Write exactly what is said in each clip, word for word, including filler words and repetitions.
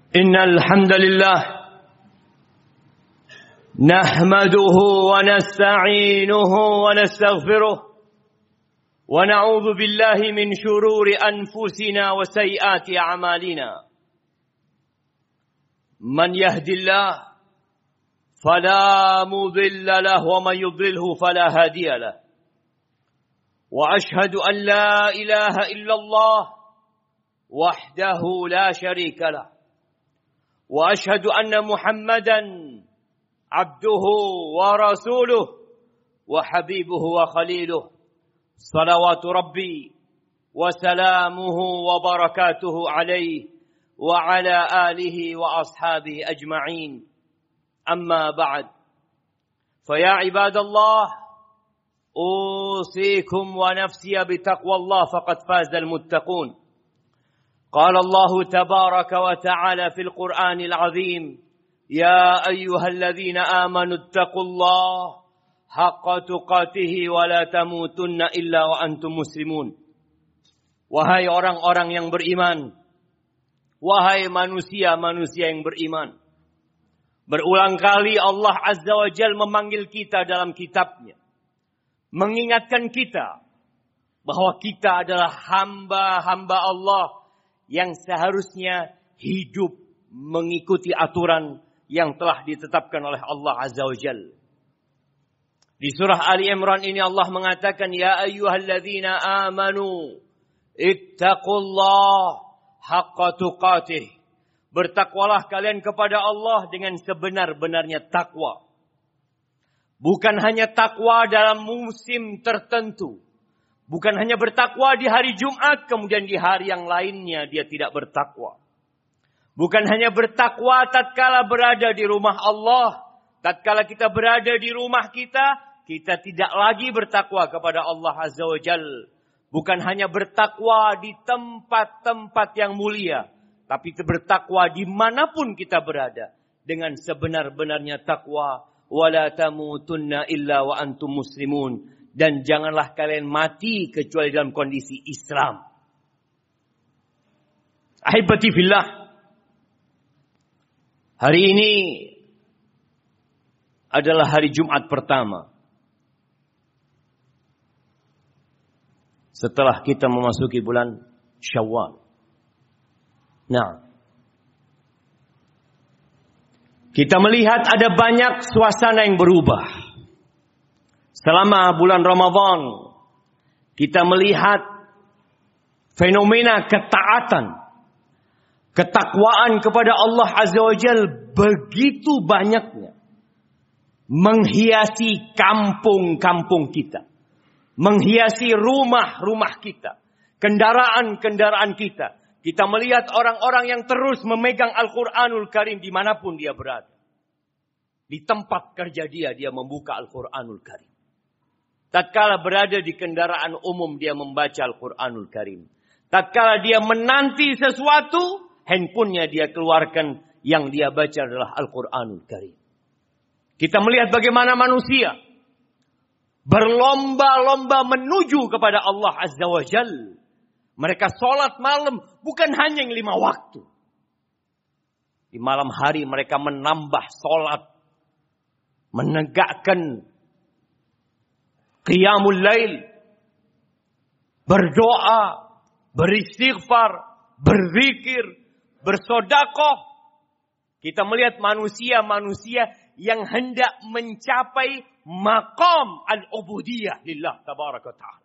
إن الحمد لله نحمده ونستعينه ونستغفره ونعوذ بالله من شرور أنفسنا وسيئات أعمالنا من يهد الله فلا مضل له ومن يضلله فلا هادي له وأشهد أن لا إله إلا الله وحده لا شريك له وأشهد أن محمدا عبده ورسوله وحبيبه وخليله صلوات ربي وسلامه وبركاته عليه وعلى آله وأصحابه أجمعين أما بعد فيا عباد الله أوصيكم ونفسي بتقوى الله فقد فاز المتقون قال الله تبارك وتعالى في القرآن العظيم يا أيها الذين آمنوا اتقوا الله حق تقاته ولا تموتن إلا وأنتم مسلمون. Wahai orang-orang yang beriman, wahai manusia-manusia yang beriman. Berulang kali Allah Azza wa Jal memanggil kita dalam kitabnya, mengingatkan kita bahwa kita adalah hamba-hamba Allah yang seharusnya hidup mengikuti aturan yang telah ditetapkan oleh Allah Azza wa Jalla. Di surah Ali Imran ini Allah mengatakan, Ya ayyuhalladzina amanu, ittaqullah haqqa tuqatih. Bertakwalah kalian kepada Allah dengan sebenar-benarnya takwa. Bukan hanya takwa dalam musim tertentu. Bukan hanya bertakwa di hari Jumat, kemudian di hari yang lainnya dia tidak bertakwa. Bukan hanya bertakwa tatkala berada di rumah Allah. Tatkala kita berada di rumah kita, kita tidak lagi bertakwa kepada Allah Azza wa Jalla. Bukan hanya bertakwa di tempat-tempat yang mulia, tapi bertakwa dimanapun kita berada. Dengan sebenar-benarnya takwa. Wala tamutunna illa wa antum muslimun. Dan janganlah kalian mati kecuali dalam kondisi Islam. Ahibati fillah. Hari ini adalah hari Jumat pertama setelah kita memasuki bulan Syawal. Nah, kita melihat ada banyak suasana yang berubah. Selama bulan Ramadan, kita melihat fenomena ketaatan, ketakwaan kepada Allah Azza wa Jalla begitu banyaknya. Menghiasi kampung-kampung kita. Menghiasi rumah-rumah kita. Kendaraan-kendaraan kita. Kita melihat orang-orang yang terus memegang Al-Quranul Karim dimanapun dia berada. Di tempat kerja dia, dia membuka Al-Quranul Karim. Tatkala berada di kendaraan umum dia membaca Al-Quranul Karim. Tatkala dia menanti sesuatu, handphonenya dia keluarkan, yang dia baca adalah Al-Quranul Karim. Kita melihat bagaimana manusia berlomba-lomba menuju kepada Allah Azza wa Jalla. Mereka sholat malam bukan hanya yang lima waktu. Di malam hari mereka menambah sholat, menegakkan Qiyamul Lail, berdoa, beristighfar, berzikir, bersedekah. Kita melihat manusia-manusia yang hendak mencapai maqam al-ubudiyah lillah tabaraka ta'ala.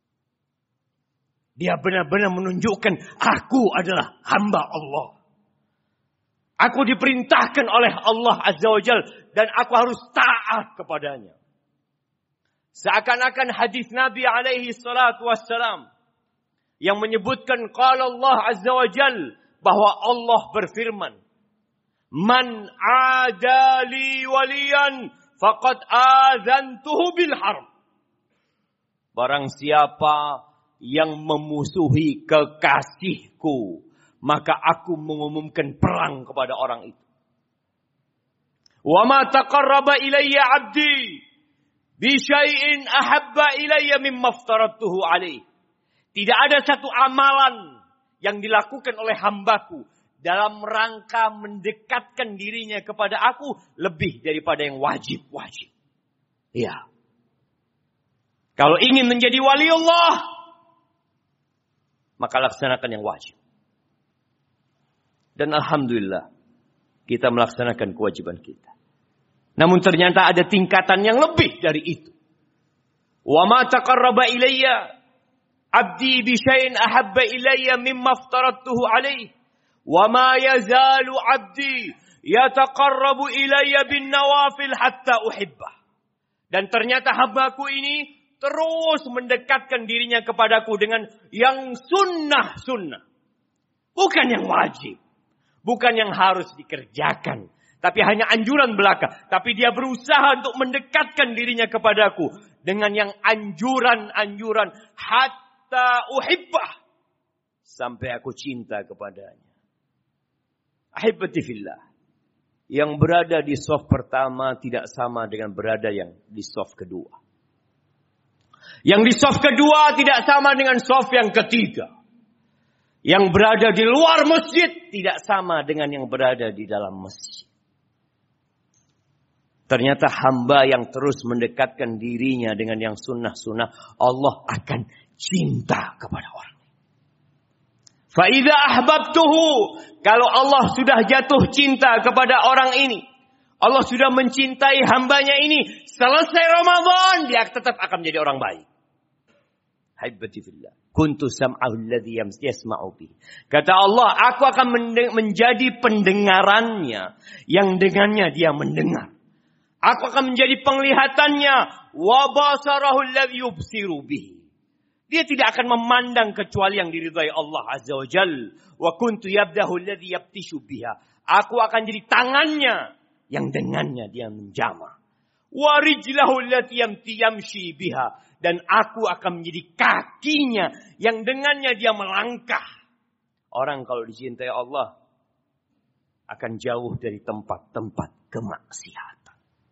Dia benar-benar menunjukkan, aku adalah hamba Allah. Aku diperintahkan oleh Allah Azza wa Jalla dan aku harus taat kepadanya. Seakan-akan hadis Nabi alaihi salatu wassalam yang menyebutkan qala Allah Azza wa Jalla, bahwa Allah berfirman, Man adali waliyan faqad azantuhu bil harb. Barang siapa yang memusuhi kekasihku, maka aku mengumumkan perang kepada orang itu. Wa ma taqarraba ilayya 'abdi bi syai'in ahabba ilayya mimma aftaradtuhu alaih. Tidak ada satu amalan yang dilakukan oleh hambaku dalam rangka mendekatkan dirinya kepada aku lebih daripada yang wajib-wajib. Iya. Kalau ingin menjadi wali Allah, maka laksanakan yang wajib. Dan alhamdulillah, kita melaksanakan kewajiban kita. Namun ternyata ada tingkatan yang lebih dari itu. Wa ma taqarraba ilayya abdi bi syai'in ahabba ilayya mimma aftaradtuhu alayhi. Wa ma yazalu abdi yataqarrabu ilayya bin nawafil hatta uhibbah. Dan ternyata hambaku ini terus mendekatkan dirinya kepadaku dengan yang sunnah-sunnah. Bukan yang wajib. Bukan yang harus dikerjakan. Tapi hanya anjuran belaka. Tapi dia berusaha untuk mendekatkan dirinya kepadaku. Dengan yang anjuran-anjuran. Hatta uhibbah. Sampai aku cinta kepadanya. Ahibati fillah. Yang berada di saf pertama tidak sama dengan berada yang di saf kedua. Yang di saf kedua tidak sama dengan saf yang ketiga. Yang berada di luar masjid tidak sama dengan yang berada di dalam masjid. Ternyata hamba yang terus mendekatkan dirinya dengan yang sunnah-sunnah, Allah akan cinta kepada orang. Fa'idha ahbabtuhu. Kalau Allah sudah jatuh cinta kepada orang ini, Allah sudah mencintai hambanya ini, selesai Ramadan, dia tetap akan menjadi orang baik. Haibati fillah. Kuntu sam'ahu alladhi yasma'u bih. Kata Allah, aku akan menjadi pendengarannya, yang dengannya dia mendengar. Aku akan menjadi penglihatannya, wa basarahu alladhi yubsiru bih. Dia tidak akan memandang kecuali yang diridhai Allah Azza wa Jal. Wa kuntu yabdahu alladhi yabtishu biha. Aku akan jadi tangannya yang dengannya dia menjamah. Wa rijlahu allati yamshi biha. Dan aku akan menjadi kakinya yang dengannya dia melangkah. Orang kalau dicintai Allah akan jauh dari tempat-tempat kemaksiatan.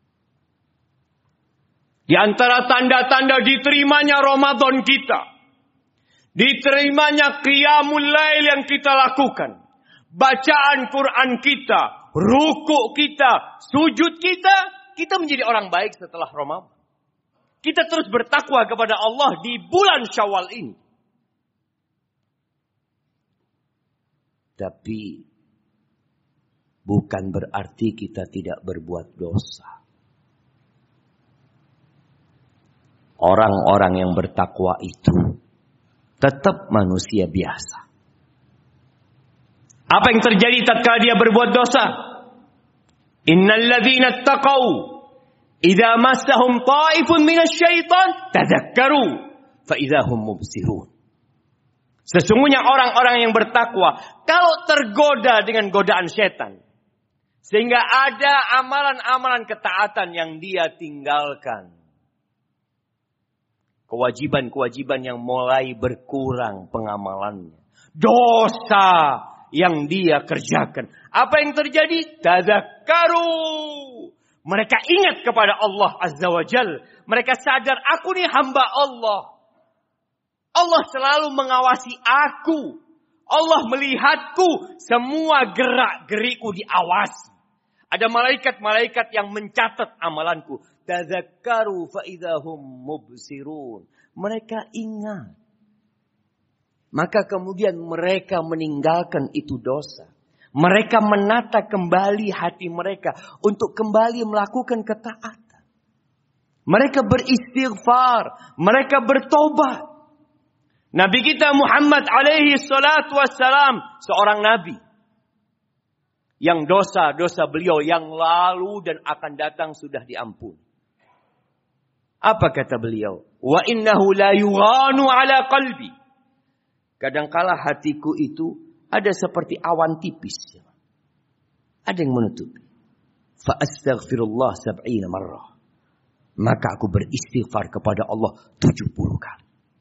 Di antara tanda-tanda diterimanya Ramadan kita, diterimanya qiyamul lail yang kita lakukan, bacaan Quran kita, rukuk kita, sujud kita, kita menjadi orang baik setelah Ramadan. Kita terus bertakwa kepada Allah di bulan Syawal ini. Tapi bukan berarti kita tidak berbuat dosa. Orang-orang yang bertakwa itu tetap manusia biasa. Apa yang terjadi tatkala dia berbuat dosa? Innal ladzina taqaw idza massahum ta'ifun minasyaitan tadzakkaru fa idza hum mubsirun. Sesungguhnya orang-orang yang bertakwa kalau tergoda dengan godaan setan, sehingga ada amalan-amalan ketaatan yang dia tinggalkan, kewajiban-kewajiban yang mulai berkurang pengamalannya, dosa yang dia kerjakan, apa yang terjadi? Tadzakkaru. Mereka ingat kepada Allah Azza wa Jal. Mereka sadar, aku ni hamba Allah. Allah selalu mengawasi aku. Allah melihatku. Semua gerak-gerikku diawasi. Ada malaikat-malaikat yang mencatat amalanku. Tadzakkaru fa idahum mubsirun. Mereka ingat. Maka kemudian mereka meninggalkan itu dosa. Mereka menata kembali hati mereka untuk kembali melakukan ketaatan. Mereka beristighfar, mereka bertobat. Nabi kita Muhammad alaihi salatu wassalam, seorang nabi yang dosa-dosa beliau yang lalu dan akan datang sudah diampuni. Apa kata beliau? Wa innahu la yughanu ala qalbi. Kadangkala hatiku itu ada seperti awan tipis. Ada yang menutupi. Fa astaghfirullah sab'ina marrah. Maka aku beristighfar kepada Allah tujuh puluh kali.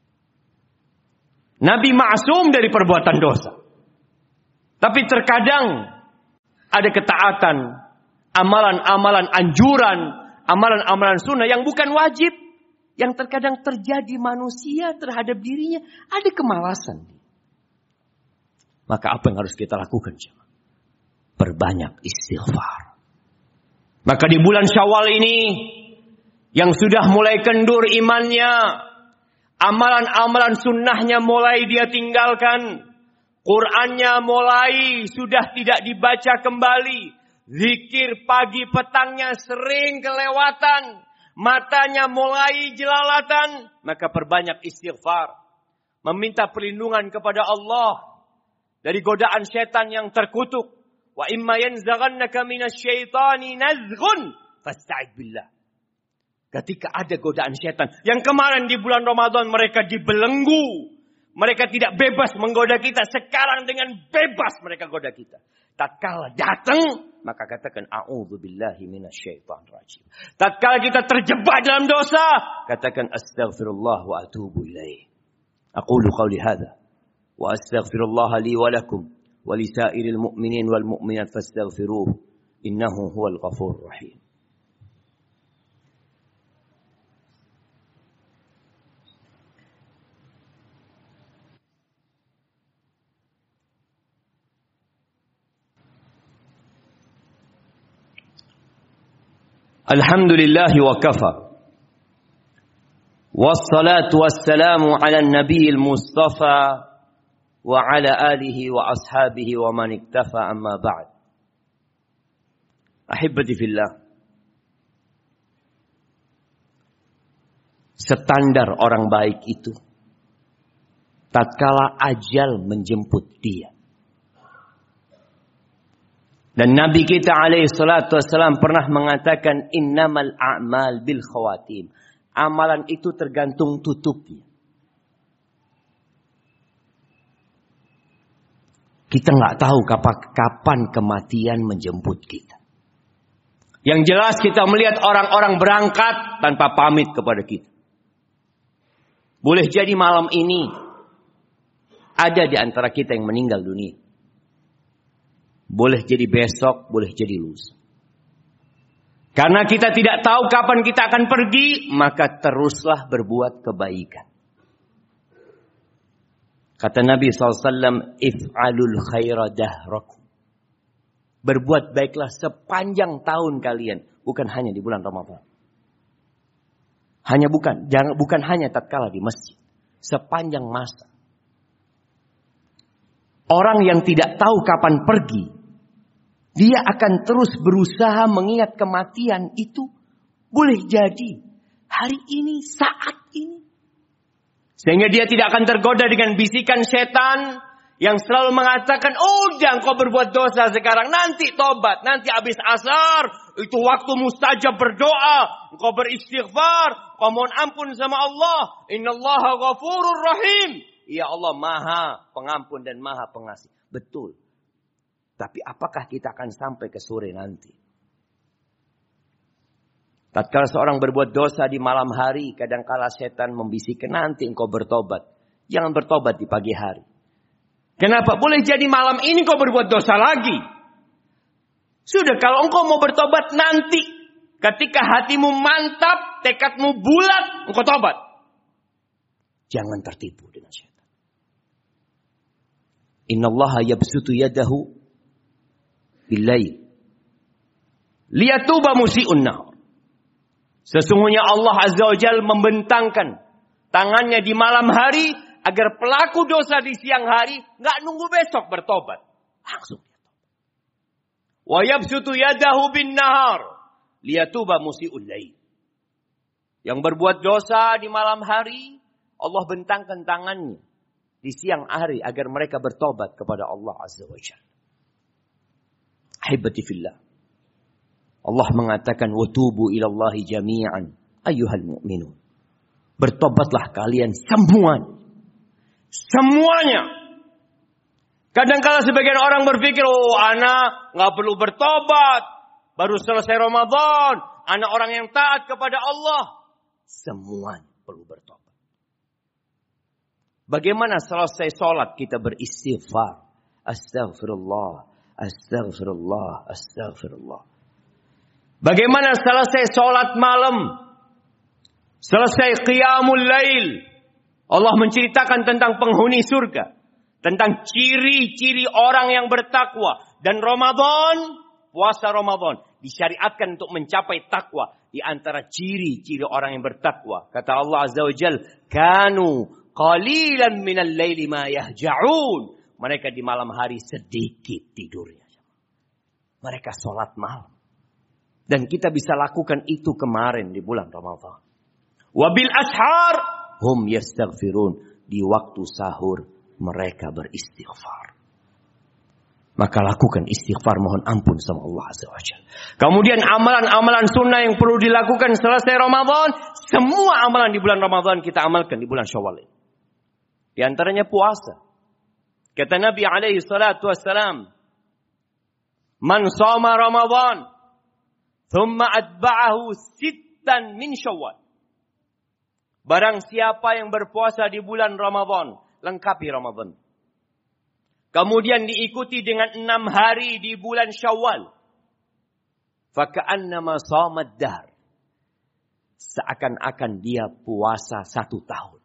Nabi ma'sum dari perbuatan dosa. Tapi terkadang ada ketaatan, amalan-amalan anjuran, amalan-amalan sunnah yang bukan wajib, yang terkadang terjadi manusia terhadap dirinya, ada kemalasan. Maka apa yang harus kita lakukan, jemaah? perbanyak istighfar. Maka di bulan Syawal ini, yang sudah mulai kendur imannya, amalan-amalan sunnahnya mulai dia tinggalkan, Qur'annya mulai sudah tidak dibaca kembali, zikir pagi petangnya sering kelewatan, matanya mulai jelalatan, maka perbanyak istighfar. Meminta perlindungan kepada Allah dari godaan setan yang terkutuk. Wa imma yanzaghannaka minasyaitani nazghun fasta'id billah. Ketika ada godaan setan, yang kemarin di bulan Ramadan mereka dibelenggu, mereka tidak bebas menggoda kita, sekarang dengan bebas mereka goda kita. Tatkala datang, maka katakan a'udzubillahi minasyaitonir rajim. Tatkala kita terjebak dalam dosa, katakan astaghfirullah wa atubu ilaih. Aqulu qawli hadha wa astaghfirullah li wa lakum wa li sa'iril mu'minin wal mu'minat fastaghfiruhu innahu huwal ghafurur rahim. Alhamdulillahi wa kafa. Wassalatu wassalamu ala nabiyil mustafa wa ala alihi wa ashabihi wa man iktafa amma ba'd. Ahibbati fillah. Standar orang baik itu tatkala ajal menjemput dia. Dan Nabi kita alaihi salatu wassalam pernah mengatakan innamal a'mal bil khawatim. Amalan itu tergantung tutupnya. Kita nggak tahu kapan kematian menjemput kita. Yang jelas kita melihat orang-orang berangkat tanpa pamit kepada kita. Boleh jadi malam ini ada di antara kita yang meninggal dunia. Boleh jadi besok, boleh jadi lusa. Karena kita tidak tahu kapan kita akan pergi, maka teruslah berbuat kebaikan. Kata Nabi shallallahu alaihi wasallam, if'alul khaira dahrakum. Berbuat baiklah sepanjang tahun kalian, bukan hanya di bulan Ramadan. Hanya bukan, jangan bukan hanya tatkala di masjid, sepanjang masa. Orang yang tidak tahu kapan pergi, dia akan terus berusaha mengingat kematian itu. Boleh jadi hari ini, saat ini. Sehingga dia tidak akan tergoda dengan bisikan setan yang selalu mengatakan, oh jangan kau berbuat dosa sekarang, nanti tobat, nanti habis asar, itu waktu mustajab berdoa, kau beristighfar, kau mohon ampun sama Allah. Innallaha ghafurur rahim. Ya Allah maha pengampun dan maha pengasih. Betul. Tapi apakah kita akan sampai ke sore nanti? Tatkala seorang berbuat dosa di malam hari, kadangkala setan membisikkan nanti engkau bertobat. Jangan bertobat di pagi hari. Kenapa? Boleh jadi malam ini kau berbuat dosa lagi. Sudah, kalau engkau mau bertobat nanti, ketika hatimu mantap, tekadmu bulat, engkau tobat. Jangan tertipu dengan setan. Innallaha yabsutu yadahu billail liyatuba musii'un nahar. Sesungguhnya Allah Azza wa Jalla membentangkan tangannya di malam hari agar pelaku dosa di siang hari enggak nunggu besok bertobat, langsung dia tobat. Wa yabsutu yadahu bin nahar liyatuba musii'ul lail. Yang berbuat dosa di malam hari, Allah bentangkan tangannya di siang hari agar mereka bertobat kepada Allah Azza wa Jalla. Ahibati fillah. Allah mengatakan watubu ilallahi jami'an ayyuhal mu'minun. Bertobatlah kalian semua. Semuanya. Kadang-kala sebagian orang berpikir, oh anak nggak perlu bertobat, baru selesai Ramadan, anak orang yang taat kepada Allah. Semua perlu bertobat. Bagaimana selesai sholat kita beristighfar? Astaghfirullah. Astaghfirullah, astaghfirullah. Bagaimana selesai sholat malam? Selesai qiyamul lail. Allah menceritakan tentang penghuni surga. Tentang ciri-ciri orang yang bertakwa. Dan Ramadan, puasa Ramadan disyariatkan untuk mencapai takwa. Di antara ciri-ciri orang yang bertakwa. Kata Allah Azza wa Jal, kanu qalilan minal laili ma yahja'un. Mereka di malam hari sedikit tidurnya. Mereka sholat malam. Dan kita bisa lakukan itu kemarin di bulan Ramadan. Wabil ashar hum yastaghfirun. Di waktu sahur mereka beristighfar. Maka lakukan istighfar, mohon ampun sama Allah Azza wa Jalla. Kemudian amalan-amalan sunnah yang perlu dilakukan selesai Ramadan. Semua amalan di bulan Ramadan kita amalkan di bulan Syawal. Di antaranya puasa. Kata Nabi alaihi salatu wassalam, man shoma Ramadan thumma atba'ahu sittan min Syawal. Barang siapa yang berpuasa di bulan Ramadan, lengkapi Ramadan. Kemudian diikuti dengan enam hari di bulan Syawal. Faka'annama shamad dahr. Seakan-akan dia puasa satu tahun.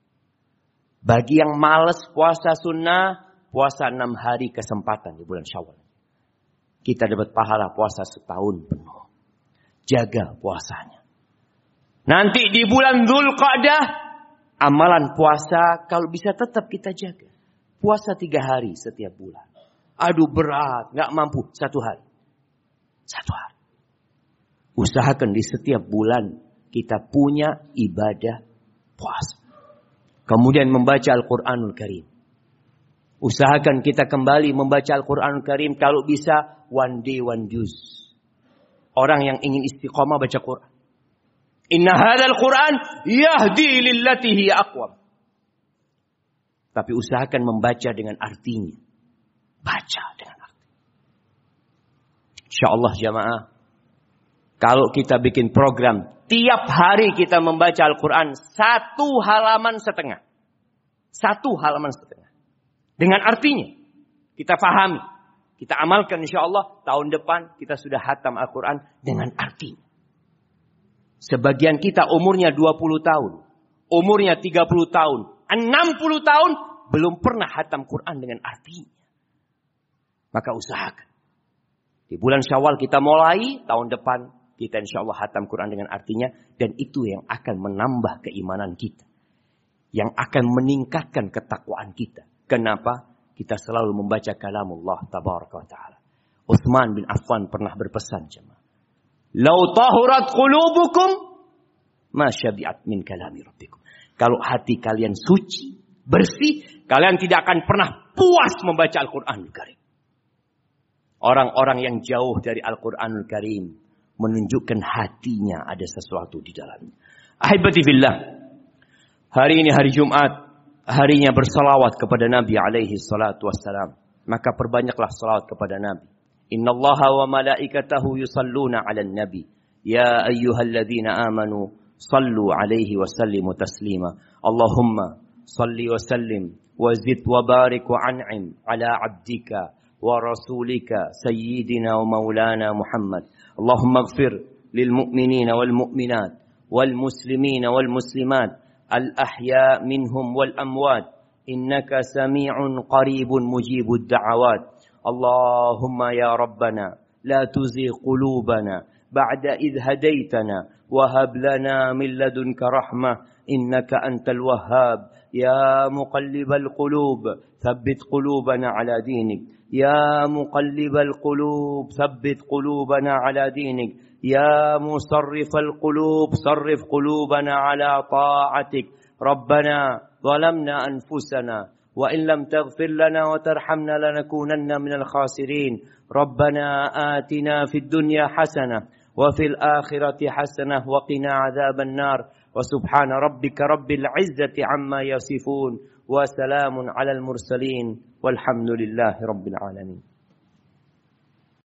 Bagi yang malas puasa sunnah, puasa enam hari kesempatan di bulan Syawal. Kita dapat pahala puasa setahun penuh. Jaga puasanya. Nanti di bulan Dzulqa'dah, amalan puasa kalau bisa tetap kita jaga. Puasa tiga hari setiap bulan. Aduh berat, gak mampu. Satu hari. Satu hari. Usahakan di setiap bulan kita punya ibadah puasa. Kemudian membaca Al-Quranul Karim. Usahakan kita kembali membaca Al-Quranul Karim. Kalau bisa, one day, one juz. Orang yang ingin istiqomah baca Quran. Inna hadzal Quran yahdi lillati hiya aqwam. Tapi usahakan membaca dengan artinya. Baca dengan arti. Insyaallah jamaah, kalau kita bikin program tiap hari kita membaca Al-Quran satu halaman setengah. Satu halaman setengah. Dengan artinya. Kita fahami. Kita amalkan insyaallah tahun depan kita sudah hatam Al-Quran dengan artinya. Sebagian kita umurnya dua puluh tahun. Umurnya tiga puluh tahun. enam puluh tahun. Belum pernah hatam Quran dengan artinya. Maka usahakan. Di bulan Syawal kita mulai. Tahun depan kita insya Allah hatam Quran dengan artinya. Dan itu yang akan menambah keimanan kita. Yang akan meningkatkan ketakwaan kita. Kenapa? Kita selalu membaca kalamullah tabaraka wa ta'ala. Utsman bin Affan pernah berpesan jemaah. Lau tahurat qulubukum ma syabi'at min kalami rabbikum. Kalau hati kalian suci, bersih, kalian tidak akan pernah puas membaca Al-Qur'anul Karim. Orang-orang yang jauh dari Al-Qur'anul Karim menunjukkan hatinya ada sesuatu di dalamnya. Ahibati fillah. Hari ini hari Jumat, harinya bersalawat kepada Nabi alaihi salatu wassalam. Maka perbanyaklah salawat kepada Nabi. Inna Allaha wa malaikatahu yusalluna ala nabi. Ya ayyuhalladzina amanu sallu alaihi wa sallimu taslima. Allahumma salli wa sallim wa zid wa barik wa an'im ala abdika wa rasulika sayyidina wa maulana Muhammad. Allahumma ighfir lil mu'minina wal mu'minat wal muslimina wal muslimat al ahya minhum wal amwat. Innaka sami'un qaribun mujibud da'awat. اللهم يا ربنا لا تزغ قلوبنا بعد إذ هديتنا وهب لنا من لدنك رحمة إنك أنت الوهاب يا مقلب القلوب ثبت قلوبنا على دينك يا مقلب القلوب ثبت قلوبنا على دينك يا مصرف القلوب صرف قلوبنا على طاعتك ربنا ظلمنا أنفسنا وإن لم تغفر لنا وترحمنا لنكونن من الخاسرين ربنا آتنا في الدنيا حسنة وفي الآخرة حسنة وقنا عذاب النار وسبحان ربك رب العزة عما يصفون وسلام على المرسلين والحمد لله رب العالمين.